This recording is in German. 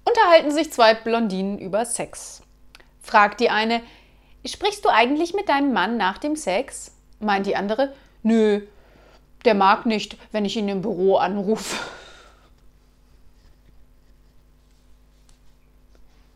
unterhalten sich zwei Blondinen über Sex. Fragt die eine: Sprichst du eigentlich mit deinem Mann nach dem Sex? Meint die andere: Nö, der mag nicht, wenn ich ihn im Büro anrufe.